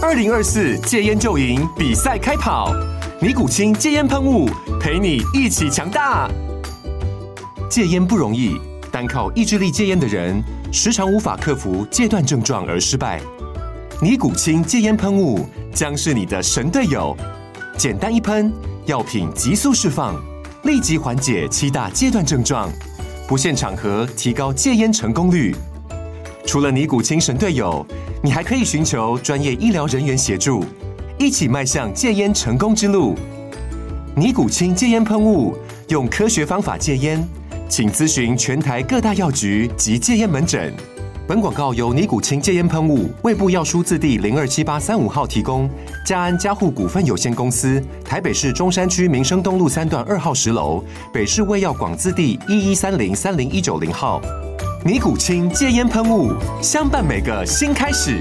2024戒烟就赢比赛开跑，尼古清戒烟喷雾陪你一起强大。戒烟不容易，单靠意志力戒烟的人，时常无法克服戒断症状而失败。尼古清戒烟喷雾将是你的神队友，简单一喷，药品急速释放，立即缓解7大戒断症状，不限场合提高戒烟成功率。除了尼古清神队友，你还可以寻求专业医疗人员协助，一起迈向戒烟成功之路。尼古清戒烟喷雾，用科学方法戒烟，请咨询全台各大药局及戒烟门诊。本广告由尼古清戒烟喷雾、卫部药书字第027835号提供，嘉安嘉护股份有限公司，台北市中山区民生东路3段2号10楼，北市卫药广字第1130-30190号。尼古清戒烟喷雾，相伴每个新开始。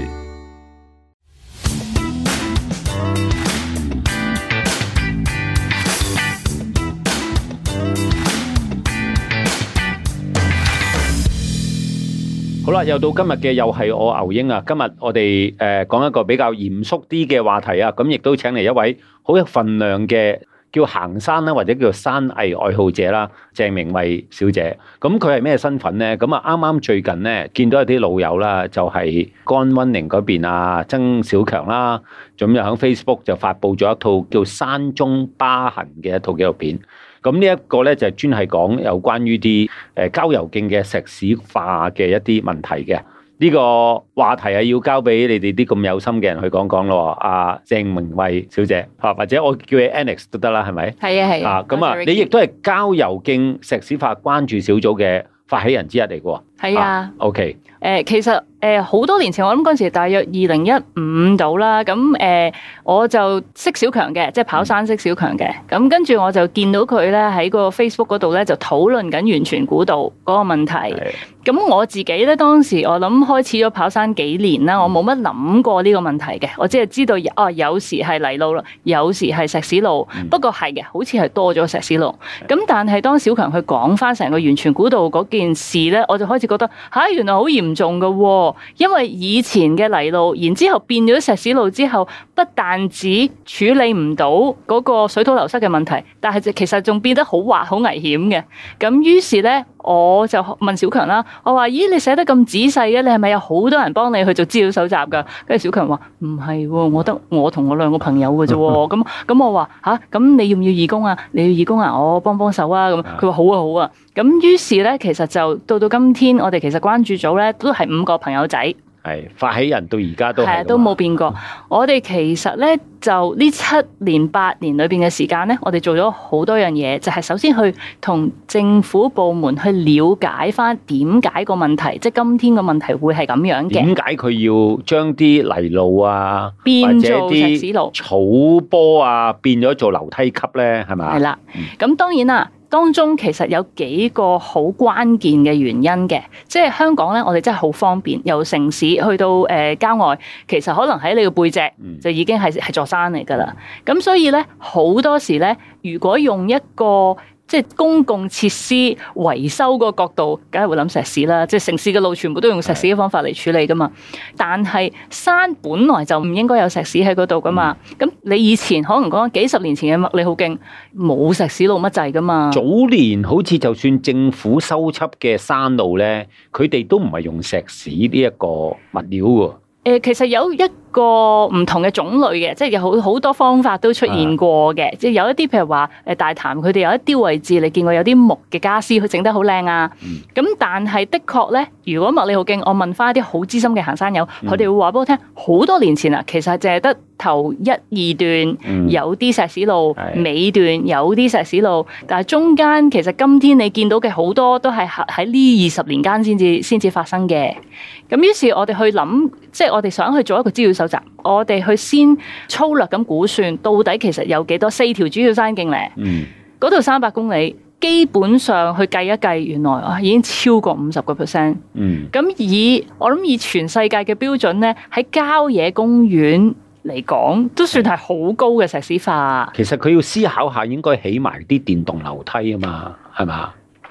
好啦，又到今日嘅又係我牛英啊！今日我哋講一個比較嚴肅啲嘅話題啊，咁亦都請嚟一位好有份量嘅叫行山啦，或者叫山藝愛好者啦，鄭明慧小姐。咁佢係咩身份咧？咁啊啱啱最近咧見到有啲老友啦，就係江溫寧嗰邊啊，曾小強啦，咁又喺 Facebook 就發布咗一套叫《山中疤痕》嘅一套紀錄片。咁呢一個咧就專係講有關於啲郊遊徑嘅石屎化嘅一啲問題嘅。呢個話題係要交俾你哋啲咁有心嘅人去講講咯。阿鄭明慧小姐，或者我叫你 Annex 都得啦，係咪？係啊係啊。咁啊，你亦都係郊遊徑石屎化關注小組嘅發起人之一嚟嘅喎。係啊。OK。 其實好多年前，我諗嗰陣時大約2015到啦，咁我就識小強嘅，即係跑山識小強嘅，咁跟住我就見到佢咧喺個 Facebook 嗰度咧就討論緊元荃古道嗰個問題。咁我自己咧當時我諗開始咗跑山幾年啦，我冇乜諗過呢個問題嘅，我只係知道有時係泥路啦，有時係石屎路，不過係嘅，好似係多咗石屎路。咁但係當小強去講翻成個元荃古道嗰件事咧，我就開始覺得原來好嚴重㗎喎，因為以前嘅泥路，然之後變咗石屎路之後，不但止處理唔到嗰個水土流失嘅問題，但係其實仲變得好滑、好危險嘅。咁於是咧，我就問小強啦，我話：咦，你寫得咁仔細嘅，你係咪有好多人幫你去做資料搜集㗎？跟住小強話：唔係喎，我同我2個朋友嘅啫喎。咁我話咁你要唔要義工啊？你要義工啊？我幫手啊！咁佢話好啊好啊。咁於是咧，其實就到今天，我哋其實關注組咧都係5個朋友仔。 係發起人到而家都係都冇變過。我哋其實咧就呢7年8年裏邊嘅時間咧，我哋做咗好多樣嘢，就係首先去同政府部門去了解翻點解個問題，即係今天個問題會係咁樣嘅。點解佢要將啲泥路啊變做石屎路、 草坡啊變咗做樓梯級咧？係咪？ 係啦，咁當然啦。當中其實有幾個好關鍵嘅原因嘅，即係香港咧，我哋真係好方便，由城市去到郊外，其實可能喺你個背脊就已經係座山嚟㗎啦。咁所以咧，好多時咧，如果用一個即係公共設施維修個角度，梗係會諗石屎啦。即係城市嘅路全部都用石屎嘅方法嚟處理噶嘛。但係山本來就唔應該有石屎喺嗰度噶嘛。咁你以前可能講幾十年前嘅麥理浩徑冇石屎路乜滯噶嘛。 早年好似就算政府修葺嘅山路咧，佢哋都唔係用石屎呢一個物料喎。 其實有一個唔同嘅種類嘅，即係有好多方法都出現過嘅。即係有一啲譬如話大潭，佢哋有一啲位置你見過有啲木嘅傢俬，佢整得好靚啊。咁但係的確咧，如果麥理浩徑，我問翻一啲好資深嘅行山友，佢哋會話俾我聽，好多年前啊，其實淨係得頭1、2段有啲石屎路，尾段有啲石屎路，但係中間其實今天你見到嘅好多都係喺呢20年間先至發生嘅。咁於是我哋去諗，即係我哋想去做一個資料搜集，我哋去先粗略咁估算，到底其實有幾多4條主要山徑咧？嗰度300公里，基本上去計一計，原來已經超過50%。咁我諗以全世界嘅標準咧，喺郊野公園嚟講，都算係好高嘅石屎化。 其實佢要思考下，應該起埋啲電動樓梯啊嘛，係嘛？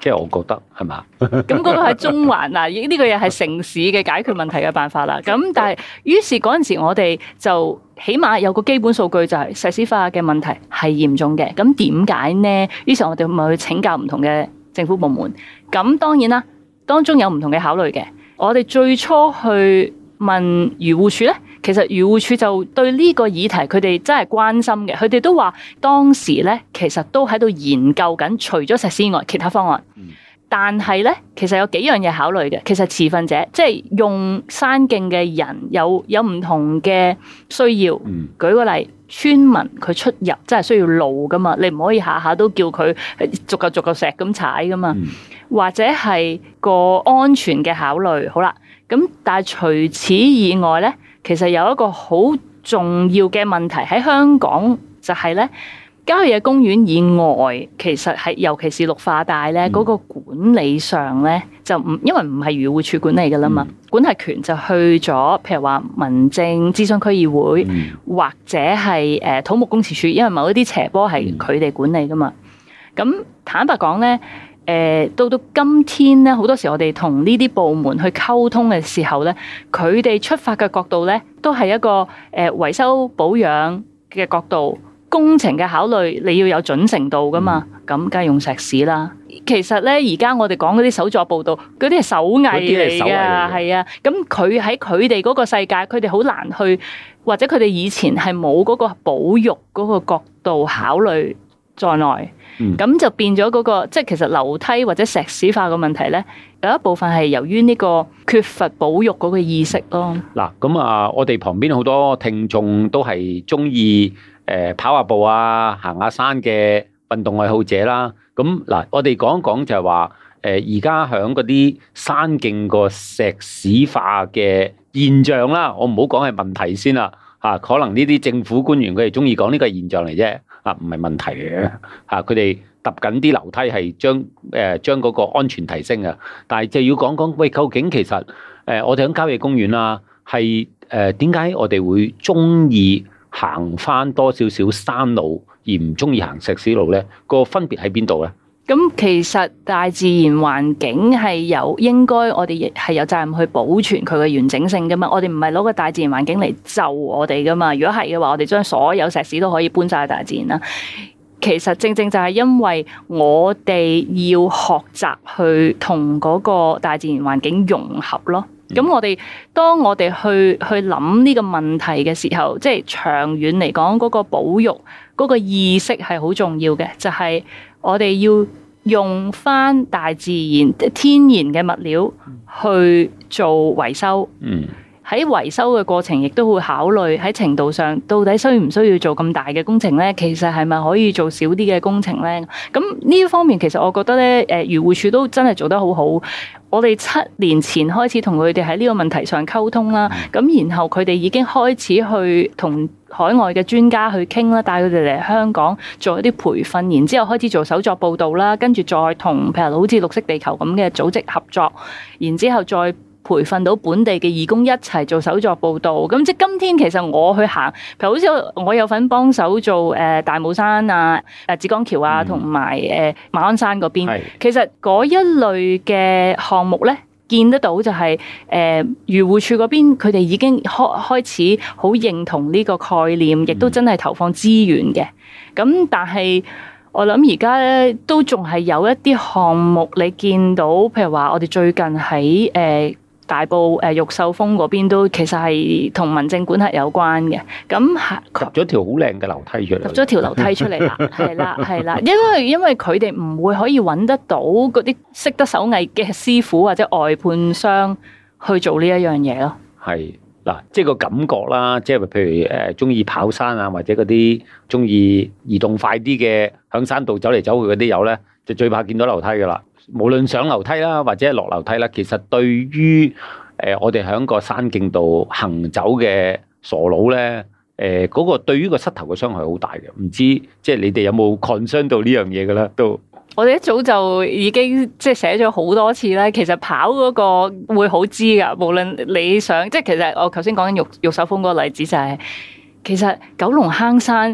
即係我覺得係嘛？ 咁嗰個係中環嗱，呢個又係城市嘅解決問題嘅辦法啦。咁但係於是嗰陣時我哋就起碼有個基本數據就係石屎化嘅問題係嚴重嘅。咁點解呢？於是我哋咪去請教唔同嘅政府部門。咁當然啦，當中有唔同嘅考慮嘅。我哋最初去問漁護署咧，其實漁護署就對呢個議題佢哋真係關心嘅，佢哋都話當時咧其實都喺度研究緊，除咗石屎外其他方案。但係咧，其實有幾樣嘢考慮嘅。其實持份者即係用山徑嘅人有唔同嘅需要。舉個例，村民佢出入真係需要路噶嘛，你唔可以下下都叫佢逐嚿石咁踩噶嘛。或者係個安全嘅考慮。好啦，咁但係除此以外咧，其實有一個好重要嘅問題喺香港就係咧。郊野公園以外，其實係尤其是綠化帶咧，嗰個管理上咧就唔，因為唔係漁護署管理噶啦嘛，管轄權就去咗，譬如話民政諮詢區議會，或者係土木工程署，因為某一啲斜坡係佢哋管理噶嘛。咁坦白講咧，到今天咧，好多時我哋同呢啲部門去溝通嘅時候咧，佢哋出發嘅角度咧，都係一個維修保養嘅角度。工程嘅考慮，你要有準程度噶嘛？咁梗係用石屎啦。其實咧，而家我哋講嗰啲手作步道，嗰啲係手藝嚟㗎，係啊。咁佢喺佢哋嗰個世界，佢哋好難去，或者佢哋以前係冇嗰個保育嗰個角度考慮在內。咁就變咗嗰個，即係其實樓梯或者石屎化嘅問題咧，有一部分係由於呢個缺乏保育嗰個意識咯。 嗱，咁啊，我哋旁邊好多聽眾都係中意跑下步啊，行下山嘅運動愛好者啦。咁嗱，我哋講一講就係話，而家響嗰啲山徑個石屎化嘅現象啦，我唔好講係問題先啦。嚇，可能呢啲政府官員佢哋中意講呢個現象嚟啫。啊，唔係問題嘅。嚇，佢哋揼緊啲樓梯係將嗰個安全提升啊。但係就要講講，喂，究竟其實我哋響郊野公園啊，係點解我哋會中意行翻多少少山路，而唔中意行石屎路咧？個分別喺邊度咧？ 咁其實大自然環境係應該我哋亦係有責任去保存佢嘅完整性噶嘛。我哋唔係攞個大自然環境嚟就我哋噶嘛。如果係嘅話，我哋將所有石屎都可以搬晒去大自然啦。其實正正就係因為我哋要學習去同嗰個大自然環境融合咯。咁當我哋去諗呢個問題嘅時候，即係長遠嚟講嗰個保育嗰個意識係好重要嘅，就係我哋要用返大自然天然嘅物料去做維修。喺維修嘅過程，亦都會考慮喺程度上，到底需唔需要做咁大嘅工程咧？其實係咪可以做少啲嘅工程咧？咁呢方面，其實我覺得咧，漁護署都真係做得好好。我哋7年前開始同佢哋喺呢個問題上溝通啦，咁然後佢哋已經開始去同海外嘅專家去傾啦，帶佢哋嚟香港做一啲培訓，然之後開始做手作報導啦，跟住再同譬如好似綠色地球咁嘅組織合作，然之後再培訓到本地嘅義工一齊做手作報導。咁即係今天其實我去行，譬如好似我有份幫手做大帽山啊、紫江橋啊，同埋馬鞍山嗰邊。其實嗰一類嘅項目咧，見得到就係漁護署嗰邊，佢哋已經開始好認同呢個概念，亦都真係投放資源嘅。咁但係我諗而家咧都仲係有一啲項目，你見到譬如話我哋最近喺大埔玉秀峰嗰邊都其實係同民政管轄有關嘅。咁入咗條好靚嘅樓梯出嚟， 入咗條樓梯出嚟啦，係啦，因為佢哋唔會可以揾得到嗰啲識得手藝嘅師傅或者外判商去做呢一樣嘢咯。 係嗱，即係個感覺啦，即係譬如中意跑山啊，或者嗰啲中意移動快啲嘅響山道走嚟走去嗰啲友咧，就最怕見到樓梯噶啦。無論上樓梯啦，或者落樓梯啦，其實對於我哋喺個山徑度行走嘅傻佬咧，嗰個對於個膝頭嘅傷害好大嘅。唔知即係你哋有冇 concern 到呢樣嘢嘅咧？都我哋一早就已經即係寫咗好多次啦。其實跑嗰個會好知㗎，無論你想即係其實我頭先講緊玉秀峰嗰個例子就係，其實九龍坑山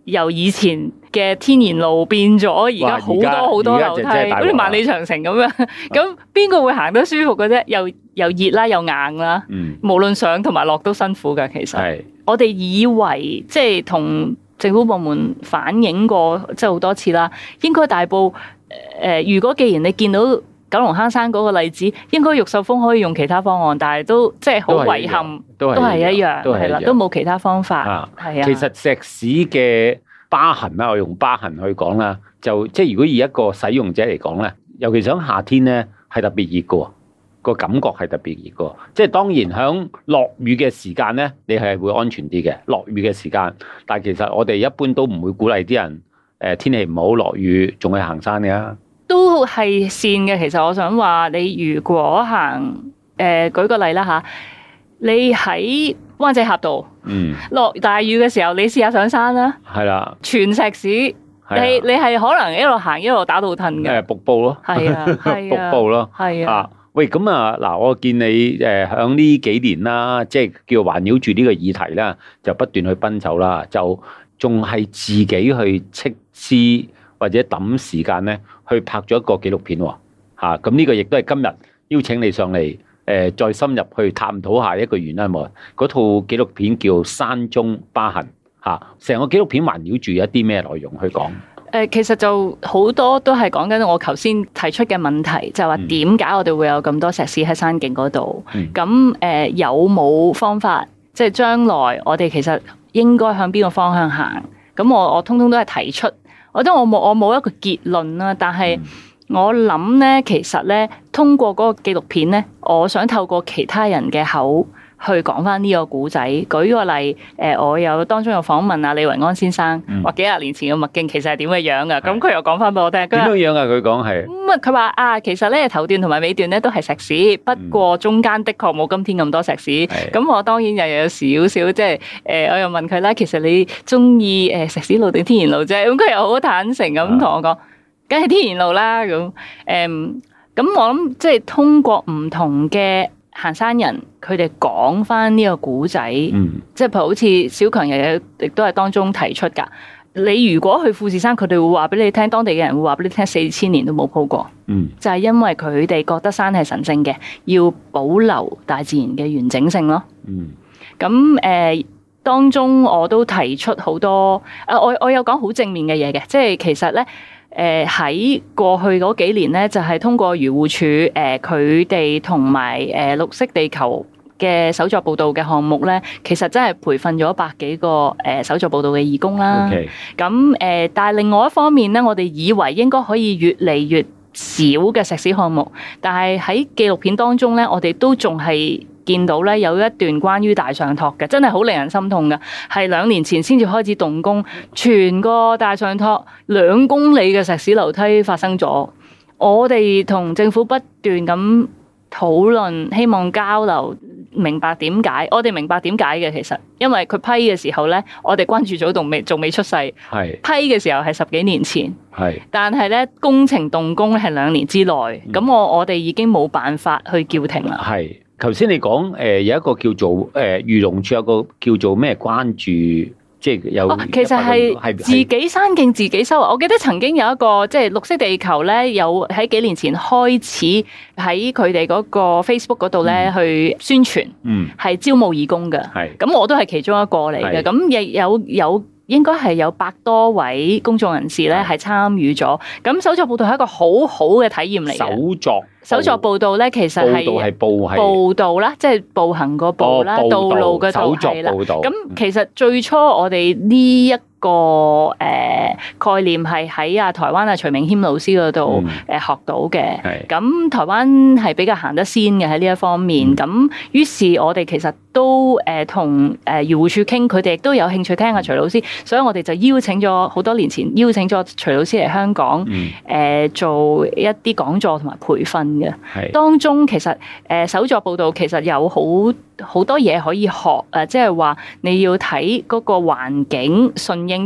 由以前嘅天然路變咗而家好多樓梯，好似萬里長城咁樣。咁邊個會行得舒服嘅啫？又熱啦，又硬啦。無論上同埋落都辛苦㗎。其實我哋以為即係同政府部門反映過，即係好多次啦。應該大埔如果既然你見到九龍坑山嗰個例子，應該玉秀峰可以用其他方案，但係都即係好遺憾，都係一樣，係啦，都冇其他方法。係啊， 其實石屎嘅疤痕啦，我用疤痕去講啦，就即係如果以一個使用者嚟講咧，尤其喺夏天咧，係特別熱嘅，個感覺係特別熱嘅。即係當然喺落雨嘅時間咧，你係會安全啲嘅。落雨嘅時間，但係其實我哋一般都唔會鼓勵啲人天氣唔好落雨仲去行山嘅。 都係線嘅，其實我想話你如果行舉個例啦嚇，你喺灣仔峽道，落大雨嘅時候，你試下上山啦，係啦，全石屎，你係可能一路行一路打到褪嘅， 瀑布咯，係啊，瀑布咯，係啊。喂，咁啊嗱，我見你響呢幾年啦，即係叫環繞住呢個議題啦，就不斷去奔走啦，就仲係自己去斥資或者抌時間咧，去拍咗一個紀錄片喎，咁呢個亦都係今日邀請你上嚟，再深入去探討下一個原因喎。嗰套紀錄片叫《山中疤痕》，成個紀錄片環繞住一啲咩內容去講？ 其實就好多都係講緊我頭先提出嘅問題，就係話點解我哋會有咁多石屎喺山徑嗰度？咁有冇方法？即係將來我哋其實應該向邊個方向行？咁我通通都係提出。我覺得我冇一個結論啦，但係我諗咧，其實咧，通過嗰個紀錄片咧，我想透過其他人嘅口去講翻呢個古仔。舉個例，我當中有訪問阿李維安先生，話幾廿年前嘅麥徑其實係點嘅樣噶，咁佢又講翻俾我聽。 點樣樣啊？佢講係佢話其實咧頭段同埋尾段咧都係石屎，不過中間的確冇今天咁多石屎。咁我當然又有少少即係我又問佢啦，其實你中意石屎路定天然路啫？咁佢又好坦誠咁同我講，梗係天然路啦。咁我諗即係通過唔同嘅行山人，佢哋講翻呢個古仔，即係譬如好似小強亦都係當中提出㗎。你如果去富士山，佢哋會話俾你聽，當地嘅人會話俾你聽，4000年都冇鋪過，就係因為佢哋覺得山係神聖嘅，要保留大自然嘅完整性咯。咁當中我都提出好多，我有講好正面嘅嘢嘅，即係其實咧。喺過去嗰幾年咧，就係通過漁護署佢哋同埋綠色地球嘅手作報道嘅項目咧，其實真係培訓咗100幾個手作報道嘅義工啦。咁但係另外一方面咧，我哋以為應該可以越嚟越少嘅石屎項目，但係喺紀錄片當中咧，我哋都仲係見到咧有一段關於大上托嘅，真係好令人心痛嘅，係2年前先至開始動工，全個大上托2公里嘅石屎樓梯發生咗。我哋同政府不斷咁討論，希望交流，明白點解。我哋明白點解嘅，其實因為佢批嘅時候咧，我哋關注組仲未出世，批嘅時候係10幾年前，但係咧工程動工咧係2年之內，咁我哋已經冇辦法去叫停啦。 頭先你講有一個叫做漁農署有個叫做咩關注，即係有其實係自己山徑自己收。我記得曾經有一個即係綠色地球咧，有喺幾年前開始喺佢哋嗰個 Facebook 嗰度咧去宣傳，係招募義工嘅。咁我都係其中一個嚟嘅。咁亦有應該係有100多位公眾人士咧係參與咗。咁手作報道係一個好好嘅體驗嚟嘅。手作報道咧，其實係步道啦，即係步行個步啦，道路嘅道係啦。咁其實最初我哋呢一個概念係喺台灣徐明謙老師嗰度學到嘅。咁台灣係比較行得先嘅喺呢一方面。咁於是我哋其實都同漁護署傾，佢哋亦都有興趣聽下徐老師，所以我哋就邀請咗好多年前邀請咗徐老師嚟香港做一啲講座同埋培訓嘅。當中其實手作報道其實有好多嘢可以學，即係話你要睇嗰個環境順應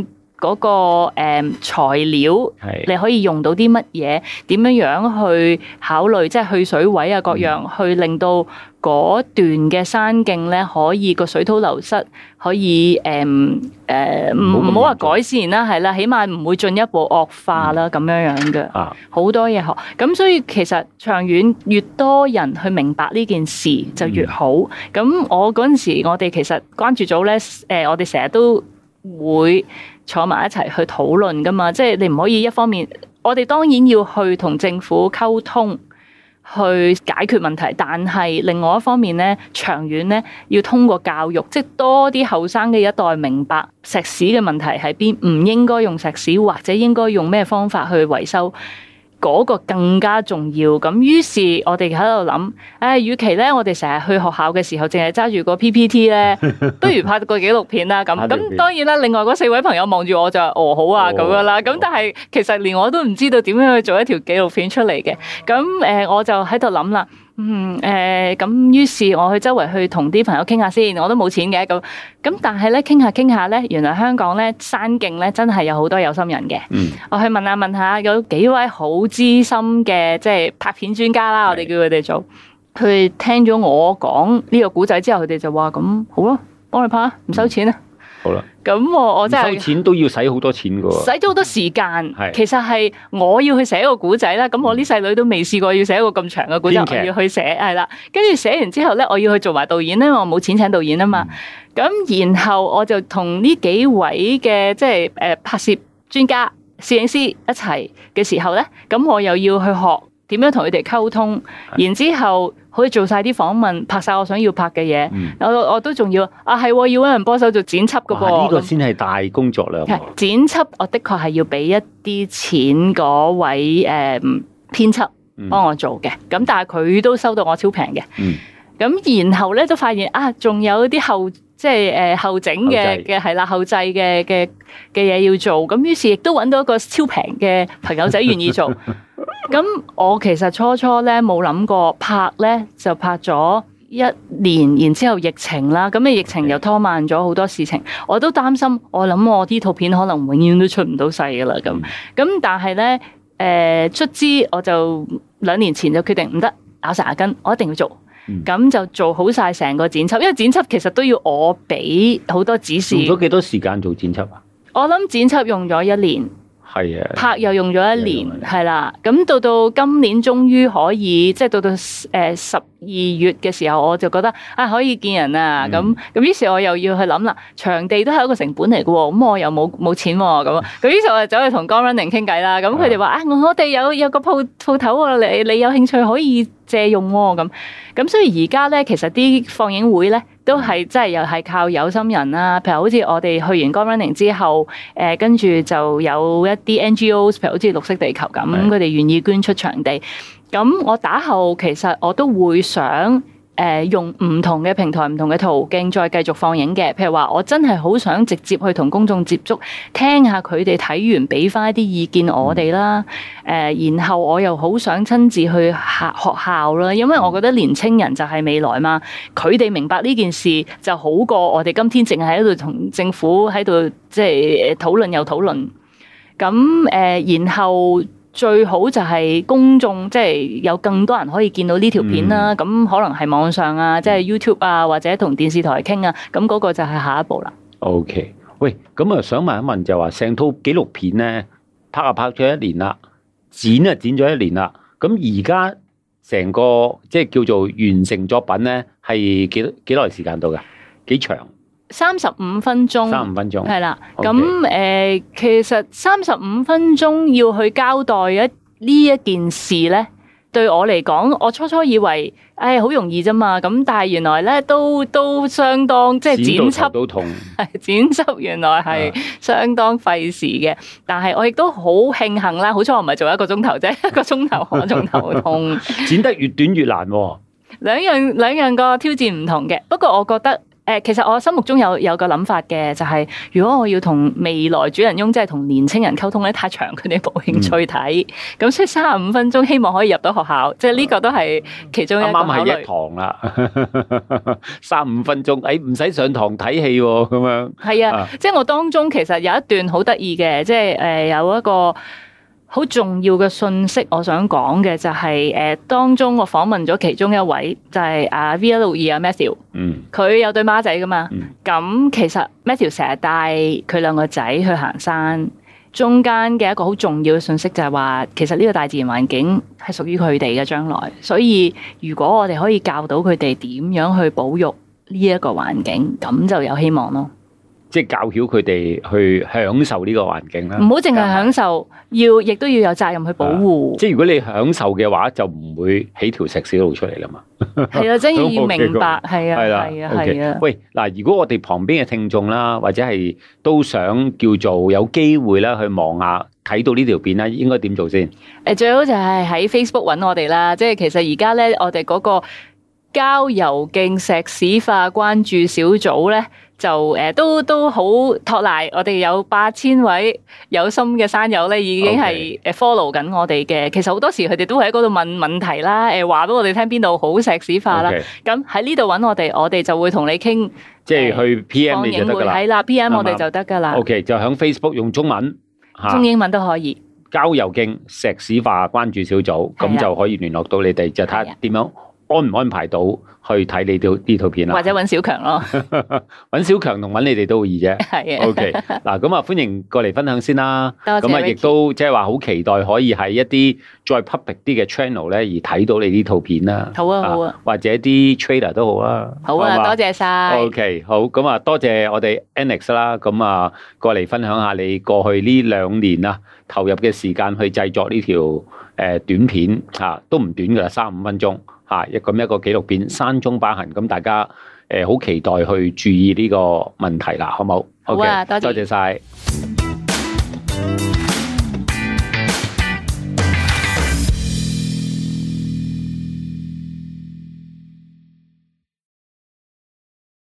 嗰個材料，你可以用到啲乜嘢？點樣去考慮即係去水位啊各樣，去令到嗰段嘅山徑咧可以個水土流失可以唔好話改善啦，係啦，起碼唔會進一步惡化啦咁樣嘅。好多嘢學，咁所以其實長遠越多人去明白呢件事就越好。咁我嗰陣時，我哋其實關注組咧，我哋成日都會坐埋一齊去討論噶嘛，即係你唔可以一方面，我哋當然要去同政府溝通，去解決問題，但係另外一方面咧，長遠咧要通過教育，即係多啲後生嘅一代明白石屎嘅問題喺邊，唔應該用石屎，或者應該用咩方法去維修。嗰個更加重要，咁於是我哋喺度諗，與其咧我哋成日去學校嘅時候，淨係揸住個 PPT 咧，不如拍個紀錄片啦。咁當然啦，另外嗰4位朋友望住我就好啊咁樣啦。咁但係其實連我都唔知道點樣去做一條紀錄片出嚟嘅。咁我就喺度諗啦。咁於是我去周圍去同啲朋友傾下先，我都冇錢嘅咁，但係咧傾下咧，原來香港咧山徑咧真係有好多有心人嘅。我去問下有幾位好資深嘅即係拍片專家啦，我哋叫佢哋做，佢聽咗我講呢個古仔之後，佢哋就話咁好咯，幫你拍，唔收錢啊。 好啦， 咁我真係收錢都要使好多錢噶， 使咗好多時間。其實係我要去寫一個古仔啦，咁我啲細女都未試過要寫一個咁長嘅古仔，我要去寫係啦。跟住寫完之後咧，我要去做埋導演咧，我冇錢請導演啊嘛。咁然後我就同呢幾位嘅即係拍攝專家、攝影師一齊嘅時候咧，咁我又要去學點樣同佢哋溝通，然之後可以做晒啲訪問，拍晒我想要拍嘅嘢。我都仲要係要搵人幫手做剪輯噶噃。呢個先係大工作量。 剪輯我的確係要俾一啲錢嗰位編輯幫我做嘅，咁但係佢都收到我超平嘅。咁然後咧都發現仲有啲後整嘅係啦，後製嘅嘢要做，咁於是亦都揾到一個超平嘅朋友仔願意做。咁我其實初咧冇諗過拍咧，就拍咗1年，然之後疫情啦，咁疫情又拖慢咗好多事情，我都擔心，我諗我呢套片可能永遠都出唔到世噶啦咁。但係咧卒之我就2年前就決定唔得，咬實牙根，我一定要做。咁就做好晒成個剪輯，因為剪輯其實都要我俾好多指示。用咗幾多時間做剪輯啊？ 我諗剪輯用咗1年。係啊，拍又用咗1年，係啦。咁到今年終於可以，即係到12月嘅時候，我就覺得可以見人啊。咁於是我又要去諗啦，場地都係一個成本嚟嘅喎。咁我又冇錢喎。咁於是我就走去同 Gone Running 傾偈啦。咁佢哋話我哋有個鋪頭喎，你有興趣可以借用喎。咁所以而家咧，其實啲放映會咧都係真係又係靠有心人啦。譬如好似我哋去完 Gone Running 之後，跟住就有一啲 NGOs，譬如好似綠色地球咁，佢哋願意捐出場地。咁我打後其實我都會想用唔同嘅平台、唔同嘅途徑再繼續放映嘅。譬如話，我真係好想直接去同公眾接觸，聽下佢哋睇完俾翻一啲意見我哋啦。然後我又好想親自去學校啦，因為我覺得年青人就係未來嘛。佢哋明白呢件事就好過我哋今天淨係喺度同政府喺度即係討論又討論。咁然後最好就係公眾即係有更多人可以見到呢條片啦。咁可能係網上啊，即係 YouTube 啊，或者同電視台傾啊。咁嗰個就係下一步啦。 OK， 喂，咁想問一問就話，成套紀錄片咧拍咗1年啦，剪咗1年啦。咁而家成個即係叫做完成作品咧，係幾耐時間到㗎？幾長 ？35分鐘 ，35分鐘係啦。 咁其實35分鐘要去交代呢一件事咧，對我嚟講，我初以為好容易啫嘛。咁但係原來咧都相當即係剪輯都痛， 剪輯原來係相當費時嘅。但係我亦都好慶幸啦，好彩我唔係做1個鐘頭啫，1個鐘頭我仲頭痛。 剪得越短越難喎。 兩樣個挑戰唔同嘅，不過我覺得其實我心目中有個諗法嘅，就係如果我要同未來主人翁，即係同年青人溝通咧，太長佢哋冇興趣睇，咁所以35分鐘希望可以入到學校，即係呢個都係其中一個考慮。 啱啱係一堂啦，35分鐘，唔使上堂睇戲喎，咁樣。 係啊，即係我當中其實有一段好得意嘅，即係有一個好重要嘅信息，我想講嘅就係當中我訪問咗其中一位，就係阿 V162 阿 Matthew，佢有對孖仔噶嘛，咁其實 Matthew 成日帶佢兩個仔去行山，中間嘅一個好重要嘅信息就係話，其實呢個大自然環境係屬於佢哋嘅將來，所以如果我哋可以教到佢哋點樣去保育呢一個環境，咁就有希望咯。 即係教曉佢哋去享受呢個環境啦， 唔好淨係享受，亦都要有責任去保護。 即係如果你享受嘅話，就唔會起條石屎路出嚟啦嘛。 係啊，真係要明白，係啊，係啊。 喂，嗱，如果我哋旁邊嘅聽眾啦，或者係都想叫做有機會啦，去望下睇到呢條片啦，應該點做先？ 最好就係喺 Facebook 揾我哋啦。即係其實而家咧，我哋嗰個郊遊徑石屎化關注小組咧，就都好托賴，我哋有8000位有心嘅山友咧，已經係follow 緊我哋嘅。其實好多時佢哋都喺嗰度問問題啦，話俾我哋聽邊度好石屎化啦。咁喺呢度揾我哋就會同你傾， 即係去 PM 你就得㗎啦。 係啦，PM 我哋就得㗎啦。 OK， 就喺 Facebook 用中文、 中英文都可以。 郊遊徑石屎化關注小組，咁就可以聯絡到你哋，就睇下點樣安唔安排到去睇你呢套片啦， 或者揾小強咯， 揾小強同揾你哋都好易啫。 係啊 ，OK，嗱咁啊，歡迎過嚟分享先啦。 多謝。 咁啊，亦都即係話好期待可以喺一啲再 public 啲嘅 channel 咧，而睇到你呢套片啦。 好啊，好啊。 或者啲 trailer 都好啦。 好啊，多謝晒。 OK， 好，咁啊，多謝我哋 Annex 啦，咁啊過嚟分享下你過去呢2年啊投入嘅時間去製作呢條短片嚇，都唔短㗎啦，35分鐘。一個紀錄片《山中疤痕》，咁大家好期待去注意呢個問題啦，好冇？ 好啊，多謝晒。